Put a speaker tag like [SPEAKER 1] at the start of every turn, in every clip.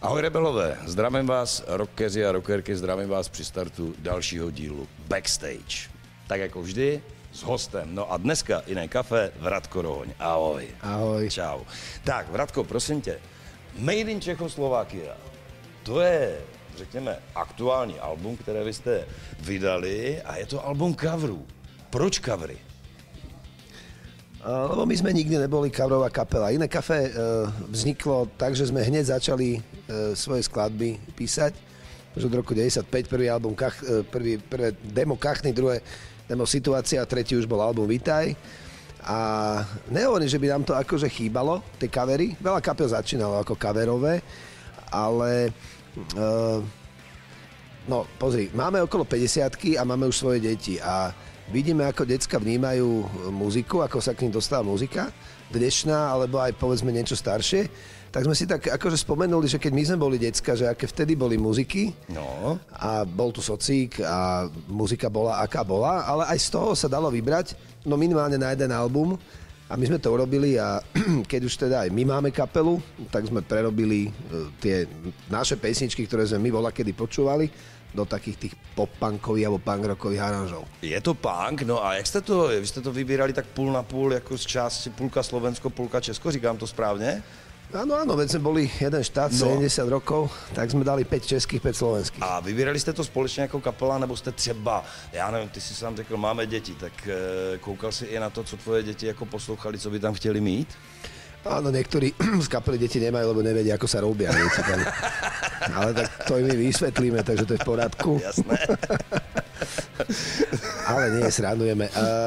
[SPEAKER 1] Ahoj rebelové, zdravím vás, rockeři a rockerky, zdravím vás při startu dalšího dílu Backstage. Tak jako vždy, s hostem. No a dneska jiné kafe, Vratko Rohoň. Ahoj.
[SPEAKER 2] Ahoj.
[SPEAKER 1] Čau. Tak, Vratko, prosím tě, Made in Czechoslovakia, to je, řekněme, aktuální album, které vy jste vydali a je to album coverů. Proč covery?
[SPEAKER 2] Lebo my sme nikdy neboli coverová kapela. Iné kafe vzniklo tak, že sme hneď začali svoje skladby písať. Už od roku 95, prvý album, prvé demo Kachny, druhé demo Situácia a tretí už bol album Vitaj. A nehovorím, že by nám to akože chýbalo, tie covery. Veľa kapel začínalo ako coverové, ale no pozri, máme okolo 50-ky a máme už svoje deti a vidíme, ako decka vnímajú muziku, ako sa k ním dostáva muzika, dnešná, alebo aj povedzme niečo staršie. Tak sme si tak akože spomenuli, že keď my sme boli decka, že aké vtedy boli muziky, no. A bol tu socík a muzika bola aká bola, ale aj z toho sa dalo vybrať, no minimálne na jeden album. A my sme to urobili a keď už teda aj my máme kapelu, tak sme prerobili tie naše pesničky, ktoré sme my volakedy počúvali, do takých tých pop-punkových alebo punk-rockových aranžov.
[SPEAKER 1] Je to punk, no a jak jste to, vy jste to vybírali tak půl na půl, jako z části půlka Slovensko, půlka Česko, říkám to správně?
[SPEAKER 2] Áno, veď sme boli jeden štát, 70 rokov, tak sme dali 5 českých, 5 slovenských.
[SPEAKER 1] A vybírali jste to společně jako kapela, nebo jste třeba, já nevím, ty si sám řekl, máme děti, tak koukal si i na to, co tvoje děti jako poslouchali, co by tam chtěli mít?
[SPEAKER 2] Áno, niektorí z kapely deti nemajú, lebo nevedia, ako sa robia. Ale tak to im my vysvetlíme, takže to je v poriadku.
[SPEAKER 1] Jasné.
[SPEAKER 2] Ale nie, srandujeme.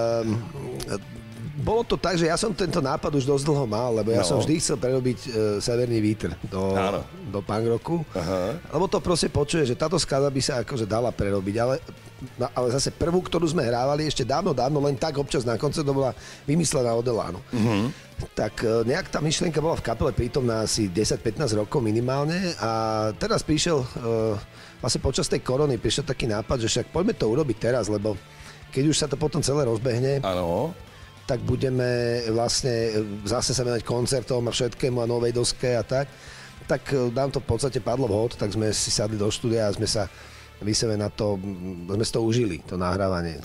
[SPEAKER 2] Bolo to tak, že ja som tento nápad už dosť dlho mal, lebo ja som vždy chcel prerobiť Severný vítr do punk rocku. Aha. Lebo to proste počuje, že táto skladba by sa akože dala prerobiť, ale zase prvú, ktorú sme hrávali ešte dávno, len tak občas na koncert, to bola vymyslená od Elánu. Uh-huh. Tak nejak tá myšlienka bola v kapele prítomná asi 10-15 rokov minimálne a teraz prišiel, vlastne počas tej korony prišiel taký nápad, že však poďme to urobiť teraz, lebo keď už sa to potom celé rozbehne, tak budeme vlastne zase sa venovať koncertom a všetkému a novej doske a tak nám to v podstate padlo vhod, tak sme si sadli do štúdia a sme sa vyseve na to, sme si to užili, to nahrávanie.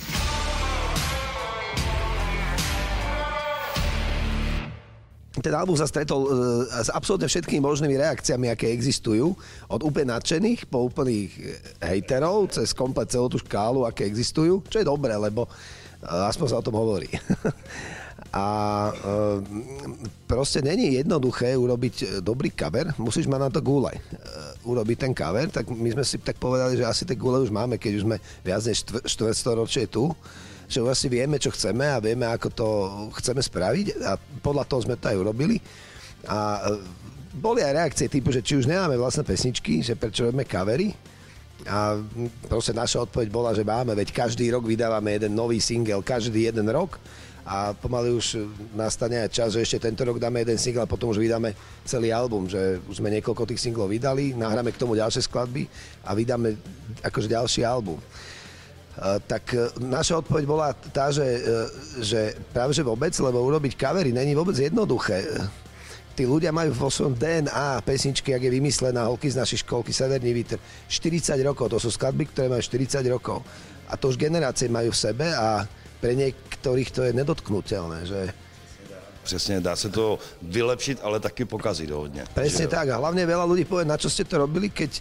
[SPEAKER 2] Ten album sa stretol s absolútne všetkými možnými reakciami, aké existujú, od úplne nadšených po úplných hejterov, cez komplet celú tú škálu, aké existujú, čo je dobré, lebo aspoň sa o tom hovorí. A proste není jednoduché urobiť dobrý cover, musíš mať na to gule. Urobiť ten cover, tak my sme si tak povedali, že asi tie gule už máme, keď už sme viac než štvrtstoročie tu, že už asi vieme, čo chceme a vieme, ako to chceme spraviť a podľa toho sme to aj urobili. A boli aj reakcie typu, že či už nemáme vlastné pesničky, že prečo robíme covery. A proste naša odpoveď bola, že máme, veď každý rok vydávame jeden nový single, každý jeden rok a pomaly už nastane aj čas, že ešte tento rok dáme jeden single a potom už vydáme celý album, že už sme niekoľko tých singlov vydali, nahráme k tomu ďalšie skladby a vydáme akože ďalší album. Tak naša odpoveď bola tá, že práve že vôbec, lebo urobiť covery není vôbec jednoduché. Tí ľudia majú vo svojom DNA pesničky, jak je vymyslená, holky z našej školky, Severný vítr, 40 rokov, to sú skladby, ktoré majú 40 rokov. A to už generácie majú v sebe a pre niektorých to je nedotknutelné, že...
[SPEAKER 1] Přesně, dá se to vylepšit, ale taky pokazit hodně.
[SPEAKER 2] Presne tak a hlavne veľa ľudí povie, na čo ste to robili, keď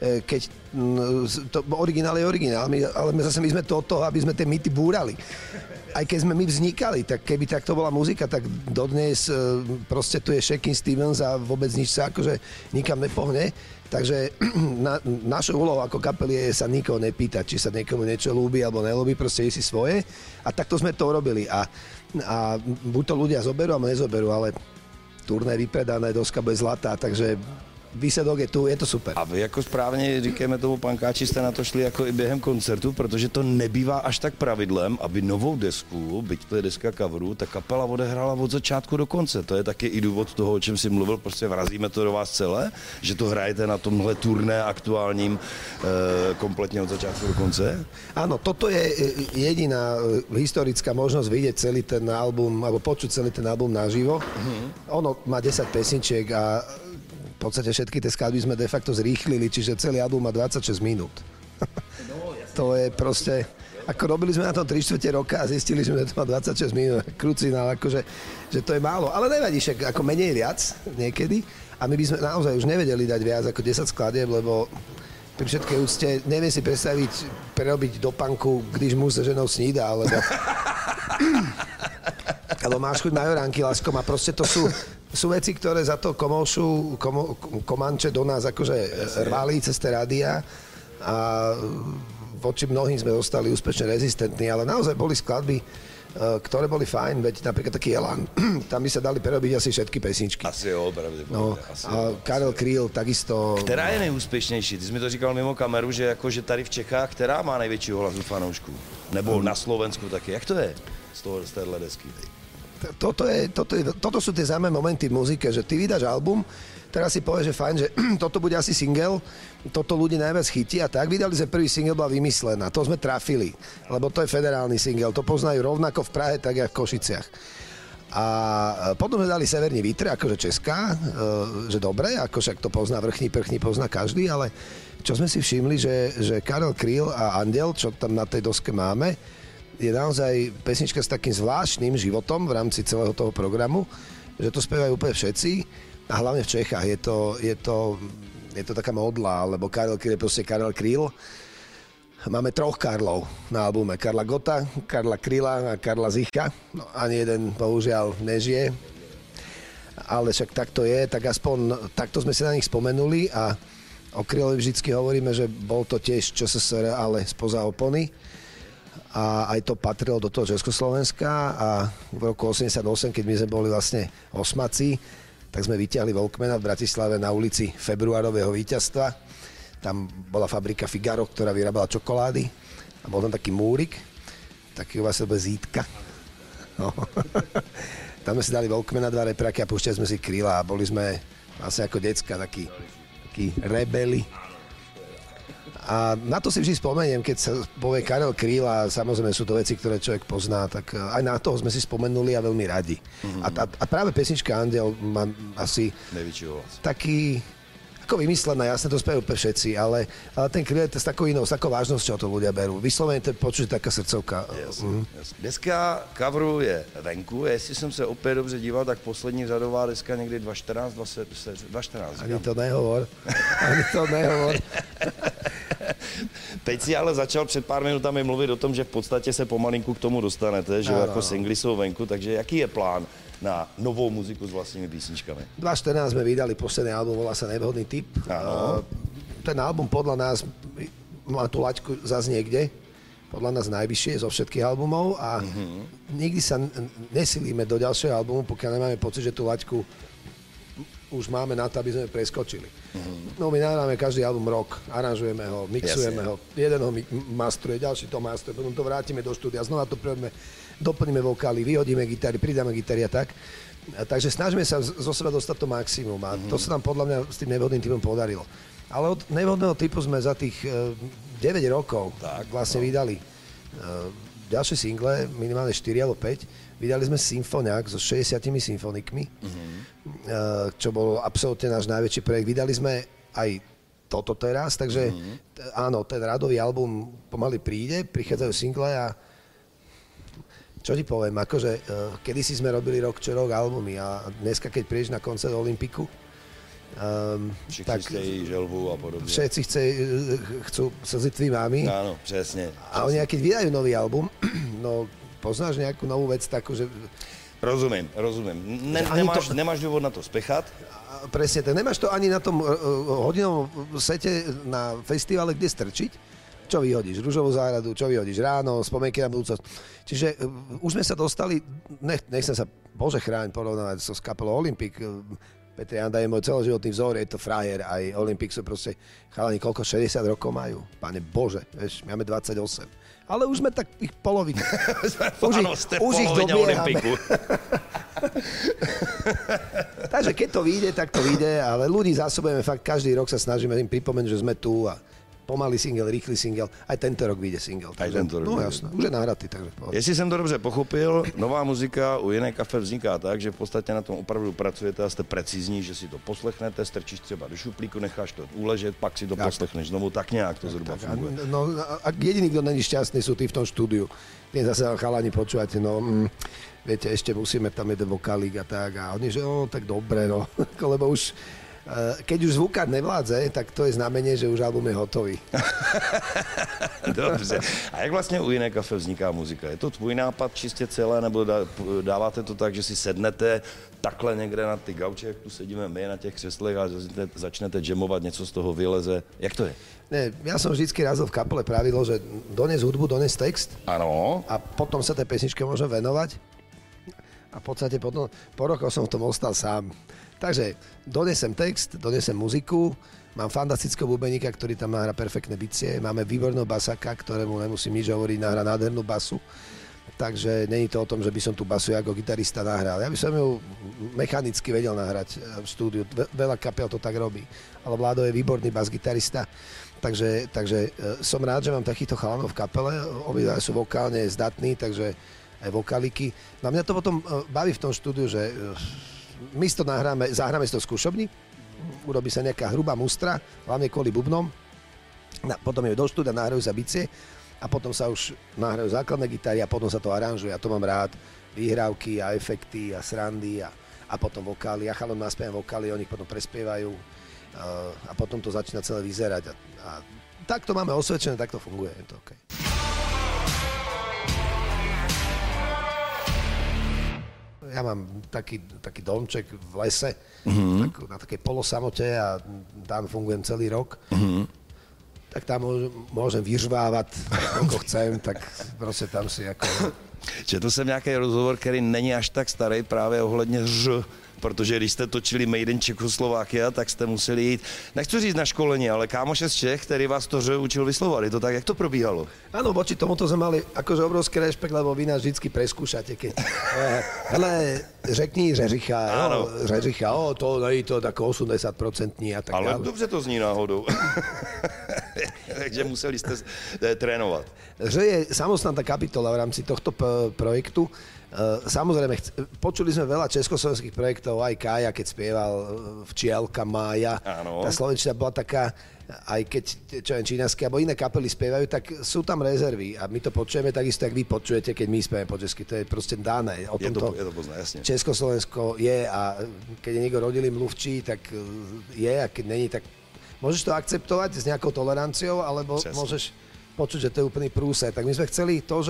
[SPEAKER 2] to originál je originál, ale my sme to od toho, aby sme tie mýty búrali. Aj keď sme my vznikali, tak keby takto bola muzika, tak dodnes proste tu je Shakin' Stevens a vôbec nič sa akože nikam nepohne. Takže našou úlohou ako kapely je sa nikoho nepýtať, či sa niekomu niečo ľúbi alebo nelúbi, proste je si svoje. A takto sme to urobili. A buď to ľudia zoberú, alebo nezoberú, ale turné vypredané, doska bude zlatá, takže výsledok je tu, je to super.
[SPEAKER 1] A vy jako správně říkáme tomu pankáči, jste na to šli jako i během koncertu, protože to nebývá až tak pravidlem, aby novou desku, byť to je deska coverů, ta kapela odehrála od začátku do konce. To je taky i důvod toho, o čem si mluvil, prostě vrazíme to do vás celé, že to hrajete na tomhle turné aktuálním kompletně od začátku do konce?
[SPEAKER 2] Áno, toto je jediná historická možnosť vidieť celý ten album, alebo počuť celý ten album naživo. Ono má 10 pesničiek a podstate všetky tie skladby sme de facto zrýchlili, čiže celý album má 26 minút. To je proste... Ako robili sme na tom 3/4 roka a zistili, že to má 26 minút. Krucinál, akože, že to je málo. Ale nevadí, však ako menej viac niekedy. A my by sme naozaj už nevedeli dať viac ako 10 skladieb, lebo pri všetkej úcte neviem si predstaviť prerobiť do punku, když muž se ženou snída, alebo máš chuť majoránky, lásko, a proste to sú veci, ktoré za to Komanče do nás akože rvali cez tie rádia a voči mnohým sme zostali úspešne rezistentní, ale naozaj boli skladby, ktoré boli fajn, veď napríklad taký Elan, tam by sa dali prerobiť asi všetky pesničky.
[SPEAKER 1] Asi jo, pravděpodobně.
[SPEAKER 2] No, a Karel Kryl takisto...
[SPEAKER 1] Která je nejúspěšnější? Ty jsi mi to říkal mimo kameru, že jakože tady v Čechách, která má největší hlasu fanoušků? Nebo na Slovensku taky. Jak to je z téhle desky?
[SPEAKER 2] Toto sú tie zaujímavé momenty v muzike, že ty vydáš album, teraz si povieš, že fajn, že toto bude asi single, toto ľudí najviac chytí a tak. Vydali sme prvý single, bola Vymyslená. To sme trafili, lebo to je federálny single. To poznajú rovnako v Prahe, tak jak v Košiciach. A potom sme dali Severní vítr, akože česká, že dobre, ako však to pozná Vrchní prchní, pozná každý, ale čo sme si všimli, že Karel Kryl a Andel, čo tam na tej doske máme, je naozaj pesnička s takým zvláštnym životom v rámci celého toho programu, že to spievajú úplne všetci a hlavne v Čechách je to taká modla, lebo Karel Kryl je proste Karel Kryl. Máme 3 Karlov na albume. Karla Gota, Karla Kryla a Karla Zicha. No, ani jeden bohužiaľ nežije. Ale však tak to je, tak aspoň takto sme si na nich spomenuli a o Krylovi vždycky hovoríme, že bol to tiež ČSSR, ale spoza opony. A aj to patrilo do toho Československa a v roku 88, keď my sme boli vlastne osmaci, tak sme vyťahli Walkmana v Bratislave na ulici Februárového víťazstva. Tam bola fabrika Figaro, ktorá vyrábala čokolády a bol tam taký múrik, taký vlastne zítka. No. Tam sme si dali Walkmana, 2 repráky a púšťali sme si Kryla a boli sme vlastne ako decka takí rebeli. A na to si vždy spomeniem, keď sa povie Karel Kryl a samozrejme sú to veci, ktoré človek pozná, tak aj na toho sme si spomenuli a veľmi radi. A práve pesnička Andel má asi taký, ako Vymyslená, jasne to spievajú všetci, ale ten Kryl je s takou inou, s takou vážnosťou to ľudia berú. Vyslovene to počuť taká srdcovka.
[SPEAKER 1] Deska coveru je venku, jestli jsem se opět dobře díval, tak poslední řadová deska někdy 2014.
[SPEAKER 2] Ani to nehovor.
[SPEAKER 1] Teď si ale začal před pár minutami mluvit o tom, že v podstatě se pomalinku k tomu dostanete, že jako singly jsou venku, takže jaký je plán na novou muziku s vlastními písničkami?
[SPEAKER 2] 2014 sme vydali posledný album, volá sa Nevhodný typ. Ten album podľa nás má tú laťku zase niekde, podľa nás najvyššie zo všetkých albumov a nikdy sa nesilíme do ďalšieho albumu, pokiaľ nemáme pocit, že tú laťku už máme na to, aby sme preskočili. No my nahráme každý album rok, aranžujeme ho, mixujeme ho, jeden ho mastruje, ďalší to mastruje, potom to vrátime do štúdia, znova to prehodíme, doplníme vokály, vyhodíme gitary, pridáme gitary a tak. Takže snažíme sa zo seba dostať to maximum a to sa nám podľa mňa s tým Nevhodným typom podarilo. Ale od Nevhodného typu sme za tých 9 rokov vlastne vydali ďalšie single, minimálne 4 alebo 5. Vydali sme Symfoniák so 60 symfonikmi, čo bol absolútne náš najväčší projekt. Vydali sme aj toto teraz, takže áno, ten radový album pomaly príde, prichádzajú single a čo ti poviem, akože kedysi sme robili rok čo rok albumy a dneska, keď prídeš na koncert Olympiku,
[SPEAKER 1] všichni tak chtějí želvu a podobne.
[SPEAKER 2] Všetci chcú slzy tvý mámy.
[SPEAKER 1] Áno, presne.
[SPEAKER 2] A oni, keď vydajú nový album, no poznáš nejakú novú vec takú, že...
[SPEAKER 1] Rozumiem. Nemáš dôvod na to spechat?
[SPEAKER 2] Presne, tak nemáš to ani na tom hodinovom sete na festivale, kde strčiť. Čo vyhodíš? Ružovú záhradu, čo vyhodíš? Ráno, spomienky na budúcnosť. Čiže už sme sa dostali, nechcem sa, Bože chráň, porovnávať s kapelou Olympik. Petr Janda je môj celoživotný vzor, je to frajer, aj Olympik sú proste chalani, koľko 60 rokov majú. Pane Bože, vieš, máme 28. Ale už sme tak ich polovina. už ich dobiehame. Takže keď to vyjde, tak to vyjde, ale ľudí zásobujeme fakt, každý rok sa snažíme im pripomenúť, že sme tu a pomalý single, rýchly single, aj tento rok vyjde single.
[SPEAKER 1] Aj tento rok.
[SPEAKER 2] No jasné, už je nahratý, takže pohľad.
[SPEAKER 1] Jestli jsem to dobře pochopil, nová muzika u Jiné kafe vzniká tak, že v podstatě na tom opravdu pracujete a jste precizní, že si to poslechnete, strčíš třeba do šuplíku, necháš to uležet, pak si to poslechneš znovu, tak nějak to zhruba funguje.
[SPEAKER 2] No a jediný, kto není šťastný, sú tí v tom štúdiu. Nie zase chalani počúvate, viete, ešte musíme tam jeden vokálík a tak. A oni, že tak dobre, lebo už, keď už zvukár nevládze, tak to je znamenie, že už album je hotový.
[SPEAKER 1] Dobře. A jak vlastně u Jiné kafe vzniká muzika? Je to tvůj nápad čistě celé, nebo dáváte to tak, že si sednete takhle někde na ty gauče, jak tu sedíme my na těch křeslech a začnete jamovat, něco z toho vyleze? Jak to je?
[SPEAKER 2] Ne, ja som vždycky razil v kapele pravidlo, že dones hudbu, dones text.
[SPEAKER 1] Ano.
[SPEAKER 2] A potom sa tej pesničke môžem venovať. A v podstate potom, po rokoch som v tom ostal sám. Takže donesem text, donesem muziku, mám fantastického bubeníka, ktorý tam nahrá perfektné bicie, máme výborného basaka, ktorému nemusím nič hovoriť, nahrá nádhernú basu. Takže není to o tom, že by som tú basu ako gitarista nahral. Ja by som ju mechanicky vedel nahrať v štúdiu. Veľa kapel to tak robí. Ale Vládo je výborný bas-gitarista. Takže som rád, že mám takýchto chalanov v kapele. Obidva sú vokálne zdatní, takže aj vokáliky. No a mňa to potom baví v tom štúdiu, že my si to zahráme si to v skúšobni, urobí sa nejaká hrubá mustra, hlavne kvôli bubnom. Potom je do štúdia, nahrajú sa bicie a potom sa už nahrajú základné gitary a potom sa to aranžuje. A to mám rád. Výhrávky a efekty a srandy a potom vokály. Ja chalom naspievam vokály, oni ich potom prespievajú. A potom to začína celé vyzerať a tak to máme osvedčené, tak to funguje, je to OK. Ja mám taký domček v lese, na takej polosamote a tam fungujem celý rok. Tak tam môžem vyžvávať, ako chcem, tak proste tam si ako...
[SPEAKER 1] Četl jsem nějaký rozhovor, který není až tak starý právě ohledně protože když jste točili Made in Čechoslovakia, tak jste museli jít, nechci říct na školení, ale kámoše z Čech, který vás to učil vyslovovat. Je to tak, jak to probíhalo?
[SPEAKER 2] Áno, voči tomuto sme mali akože obrovský rešpekt, lebo vy nás vždycky preskúšate, keď hele, řekni Řeřicha, to není to tak 80% a tak
[SPEAKER 1] ale
[SPEAKER 2] dále.
[SPEAKER 1] dobře to zní náhodou. Takže museli jste trénovat.
[SPEAKER 2] Že je samostatná kapitola v rámci tohto projektu. Samozrejme, počuli sme veľa československých projektov, aj Kája, keď spieval Včielka, Mája.
[SPEAKER 1] Áno.
[SPEAKER 2] Tá slovenčina bola taká, aj keď, čo viem, čínaské, alebo iné kapely spievajú, tak sú tam rezervy a my to počujeme takisto, jak vy počujete, keď my spievame po česky. To je proste dané. O
[SPEAKER 1] je to pozná, jasne.
[SPEAKER 2] Československo je a keď je niekto rodilý mluvčí, tak je a keď není, tak môžeš to akceptovať s nejakou toleranciou, alebo môžeš počuť, že to je úplný prúser. Tak my sme chceli to,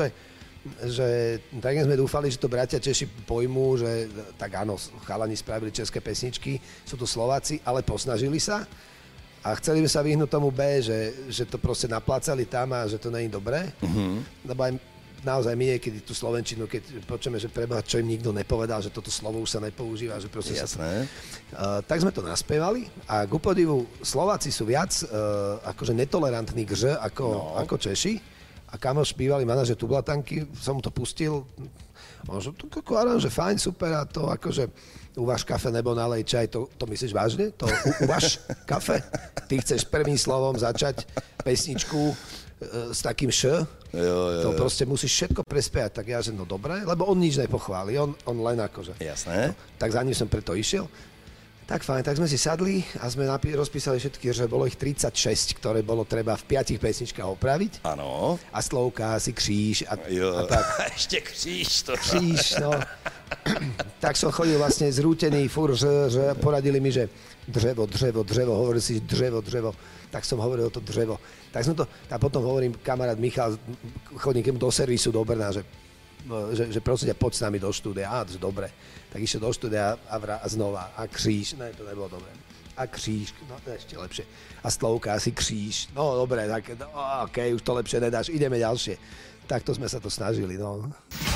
[SPEAKER 2] že tak sme dúfali, že to bratia Češi pojmú, že tak áno, chalani spravili české pesničky, sú to Slováci, ale posnažili sa a chceli by sa vyhnúť tomu B, že to proste naplácali tam a že to není dobré. Lebo aj naozaj my niekedy tú slovenčinu, keď počujeme, že preboha, čo im nikto nepovedal, že toto slovo už sa nepoužíva, že proste
[SPEAKER 1] jasné.
[SPEAKER 2] Tak sme to naspievali a ku podivu Slováci sú viac akože netolerantní k Ž ako Češi. A kamoš bývalý manažer Tublatanky, som mu to pustil, on že to aranže fajn, super a to akože uvaž kafe nebo nalej čaj, to myslíš vážne? To uvaž kafe? Ty chceš prvým slovom začať pesničku s takým š? To proste musíš všetko prespievať, tak ja že no dobre, lebo on nič nepochváli, on len akože.
[SPEAKER 1] Jasné.
[SPEAKER 2] Tak za ním som preto išiel. Tak fajn, tak sme si sadli a sme rozpísali všetky, že bolo ich 36, ktoré bolo treba v 5 pesničkách opraviť.
[SPEAKER 1] Áno.
[SPEAKER 2] A slovka, asi kříž a tak.
[SPEAKER 1] Ešte kříž to.
[SPEAKER 2] Kříž, no. Tak som chodil vlastne zrútený, furt, že poradili mi, že drevo, hovorili si drevo. Tak som hovoril to drevo. Tak som to, a potom hovorím, kamarát Michal, chodím k do servisu do Brna, že prosím ťa, poď s nami do štúdia. Á, dobre. Tak išiel do štúdia a znova. A kříž. Ne, to nebolo dobre. A kříž. No, to je ešte lepšie. A slovka, asi kříž. No, dobre, tak okej, už to lepšie nedáš. Ideme ďalšie. Takto sme sa to snažili, no.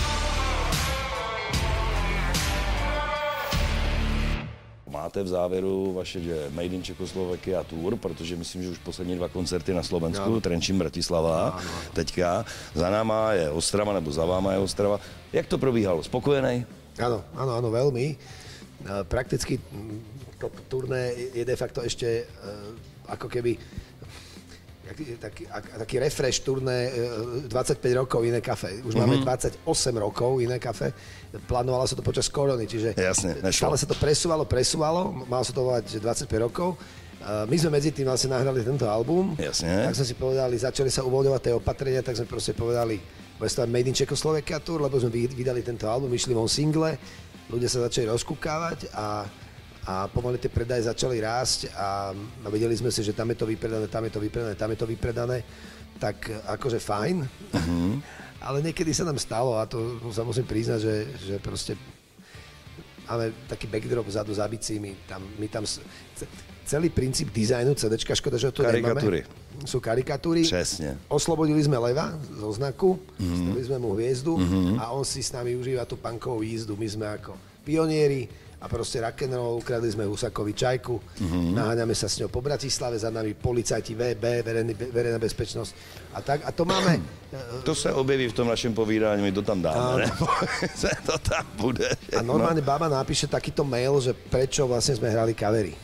[SPEAKER 1] Máte v závěru vaše Made in Czechoslovakia tour, protože myslím, že už poslední 2 koncerty na Slovensku, no. Trenčín, Bratislava, no. Teďka. Za náma je Ostrava, nebo za váma je Ostrava. Jak to probíhalo? Spokojenej?
[SPEAKER 2] Áno, veľmi. Prakticky to turné je de facto ešte ako keby taký refresh turné 25 rokov iné kafe. Už máme 28 rokov iné kafe. Plánovalo sa to počas korony, čiže stále sa to presúvalo. Malo sa to volať 25 rokov. My sme medzi tým vlastne nahrali tento album.
[SPEAKER 1] Jasne.
[SPEAKER 2] Tak sme si povedali, začali sa uvoľňovať tie opatrenia, tak sme proste povedali, bude to Made in Czechoslovakia tour, lebo sme vydali tento album, vyšli von single, ľudia sa začali rozkúkávať a pomaly tie predaje začali rásť a vedeli sme si, že tam je to vypredané, tak akože fajn. Ale niekedy sa nám stalo, a to sa musím priznať, že proste máme taký backdrop vzadu za bicími, my tam celý princíp dizajnu CDčka, škoda, že to
[SPEAKER 1] karikatúry.
[SPEAKER 2] Nemáme. Sú karikatúry.
[SPEAKER 1] Přesne.
[SPEAKER 2] Oslobodili sme Leva zo znaku, stavili sme mu hviezdu a on si s nami užíva tú punkovú jízdu. My sme ako pionieri a proste rock'n'roll, ukradli sme Husakovi čajku, naháňame sa s ňou po Bratislave, za nami policajti VB, verejná bezpečnosť a tak. A to máme...
[SPEAKER 1] To sa objeví v tom našem povídání, my to tam dáme, nebo to tam bude.
[SPEAKER 2] A normálne baba napíše takýto mail, že prečo vlastne sme hrali kavery.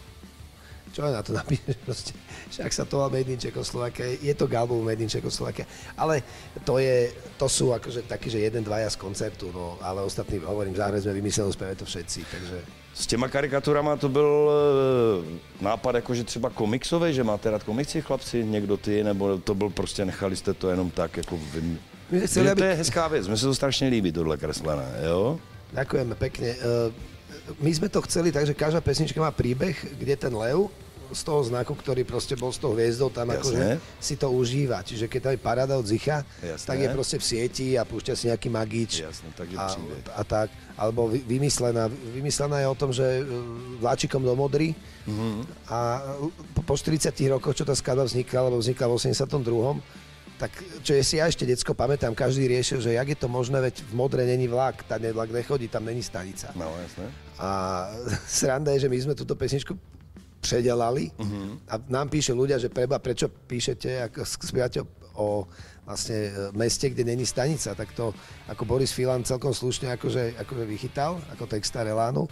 [SPEAKER 2] Čo aj na to napíše, proste, však sa to volá Made in Czechoslovakia, je to album Made in Czechoslovakia, ale to sú akože takí, že 1-2 z koncertu, no, ale ostatní, hovorím, záhre sme vymysleli, spievajú to všetci, takže...
[SPEAKER 1] S těma karikaturama to byl nápad jakože třeba komiksový, že máte rád komiksy, chlapci, někdo ty, nebo to byl prostě, nechali jste to jenom tak, jako vy... To je hezká věc, mně se to strašně líbí, tohle kreslené, jo?
[SPEAKER 2] Ďakujeme pekne. My sme to chceli tak, že každá pesnička má príbeh, kde ten lev z toho znaku, ktorý proste bol s tou hviezdou, tam akože si to užíva. Čiže keď tam je paráda od Zicha, tak je proste v sieti a púšťa si nejaký magič.
[SPEAKER 1] Jasne, takže
[SPEAKER 2] a tak. Alebo vymyslená je o tom, že vláčikom do Modry a po 40 rokoch, čo tá skladba vznikla, lebo vznikla v 82. Tak čo je si ja ešte decko pamätám, každý riešil, že jak je to možné, veď v Modre není vlak, tam vlak nechodí, tam není stanica.
[SPEAKER 1] No, jasné.
[SPEAKER 2] A sranda je, že my sme túto pesničku predelali a nám píše ľudia, že prečo píšete, ako spievate o vlastne meste, kde není stanica, tak to ako Boris Filan celkom slušne akože vychytal, ako textár Elánu,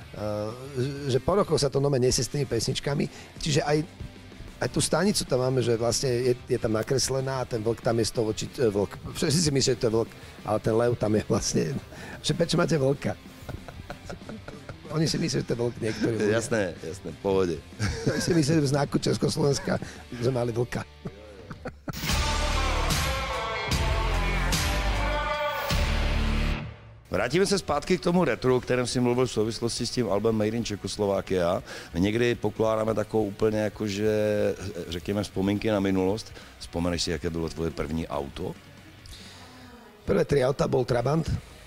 [SPEAKER 2] že po rokoch sa to nome nesie s tými pesničkami, čiže aj tú stanicu tam máme, že vlastne je tam nakreslená a ten vlk tam je z toho vlk. Všetci si myslíte, že to je vlk, ale ten lev tam je vlastne, že prečo máte vlka? Oni si myslí, že to je vlk niektorý.
[SPEAKER 1] Jasné, v pohode.
[SPEAKER 2] Oni si myslí, že v znaku Československa sme mali vlka.
[SPEAKER 1] Vrátíme se zpátky k tomu retru, o kterém si mluvil v souvislosti s tím albem Made in Czechoslovakia. My někdy pokládáme takovou úplně jakože, řekněme, vzpomínky na minulost. Vzpomeneš si, jaké bylo tvoje první auto?
[SPEAKER 2] Prvé 3 auta bol Trabant.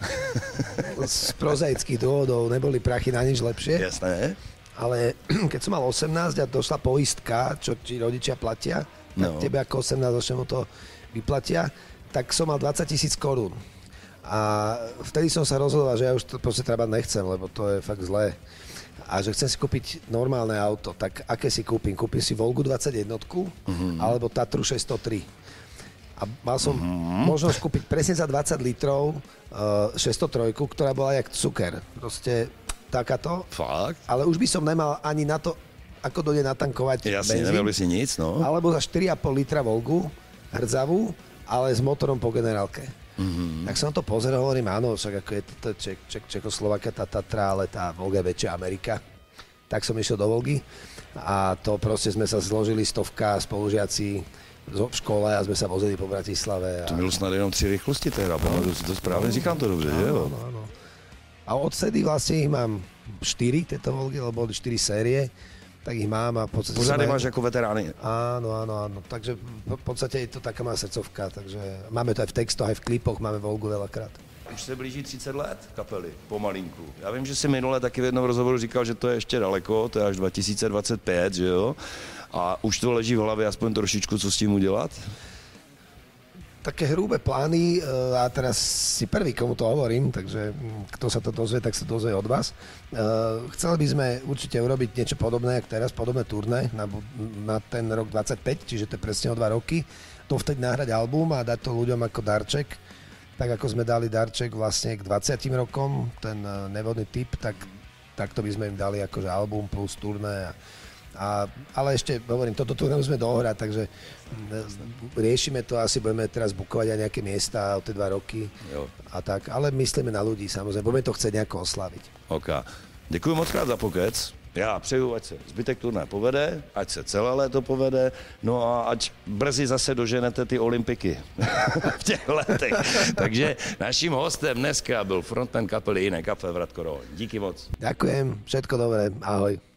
[SPEAKER 2] Z prozaických dôvodov neboli prachy na nič lepšie.
[SPEAKER 1] Jasné.
[SPEAKER 2] Ale keď som mal 18 a došla poistka, čo ti rodičia platia, tak tebe ako 18-ročnému to vyplatia, tak som mal 20 000 korún. A vtedy som sa rozhodoval, že ja už to proste Trabant nechcem, lebo to je fakt zlé. A že chcem si kúpiť normálne auto, tak aké si kúpim? Kúpim si Volgu 21 alebo Tatru 603. A mal som možnosť kúpiť presne za 20 litrov 603, ktorá bola jak cuker. Proste takáto.
[SPEAKER 1] Fakt?
[SPEAKER 2] Ale už by som nemal ani na to, ako dojde natankovať
[SPEAKER 1] benzín. Jasne, nemal by si nic, no.
[SPEAKER 2] Alebo za 4,5 litra Volgu, hrdzavú, ale s motorom po generálke. Tak som to pozeral, hovorím, áno, však ako je to Čechoslovakia, tá Tatra, ale tá Volga je väčšia Amerika. Tak som išiel do Volgy a to proste sme sa zložili stovka spolužiaci v škole a sme sa vozili po Bratislave.
[SPEAKER 1] To bylo snad jenom 3 rychlosti teda, to správne říkám to dobře, že jo?
[SPEAKER 2] Áno. A odtedy vlastne ich mám 4 tieto Volgy, lebo boli 4 série. Tak ich mám a v podstate...
[SPEAKER 1] Pořád máš ako veterány.
[SPEAKER 2] Áno. Takže v podstate je to taká má srdcovka, takže máme to aj v textoch, aj v klipoch, máme Volgu veľakrát.
[SPEAKER 1] Už se blíží 30 let kapely, pomalinku. Já vím, že si minule taky v jednom rozhovoru říkal, že to je ještě daleko, to je až 2025, že jo? A už to leží v hlavě aspoň trošičku, co s tím udělat?
[SPEAKER 2] Také hrubé plány a teraz si prvý, komu to hovorím, takže kto sa to dozvie, tak sa dozvie od vás. Chceli by sme určite urobiť niečo podobné, ako teraz, podobné turné na ten rok 25, čiže to je presne o 2 roky. To vtedy nahrať album a dať to ľuďom ako darček. Tak ako sme dali darček vlastne k 20 rokom, ten nevodný typ, tak to by sme im dali akože album plus turné Ale ešte, hovorím, toto tu nemusíme dohrať, takže riešime to, asi budeme teraz bukovať aj nejaké miesta o tie 2 roky a tak, ale myslíme na ľudí, samozrejme, budeme to chcieť nejako oslaviť.
[SPEAKER 1] OK. Děkuji moc krát za pokec. Já přeju, ať se zbytek turné povede, ať se celé léto povede, no a ať brzy zase doženete ty olympiky v těch letech. Takže naším hostem dneska byl frontman kapely Jiné kafe Vratko Rohoň. Díky moc.
[SPEAKER 2] Ďakujem, všetko dobré, ahoj.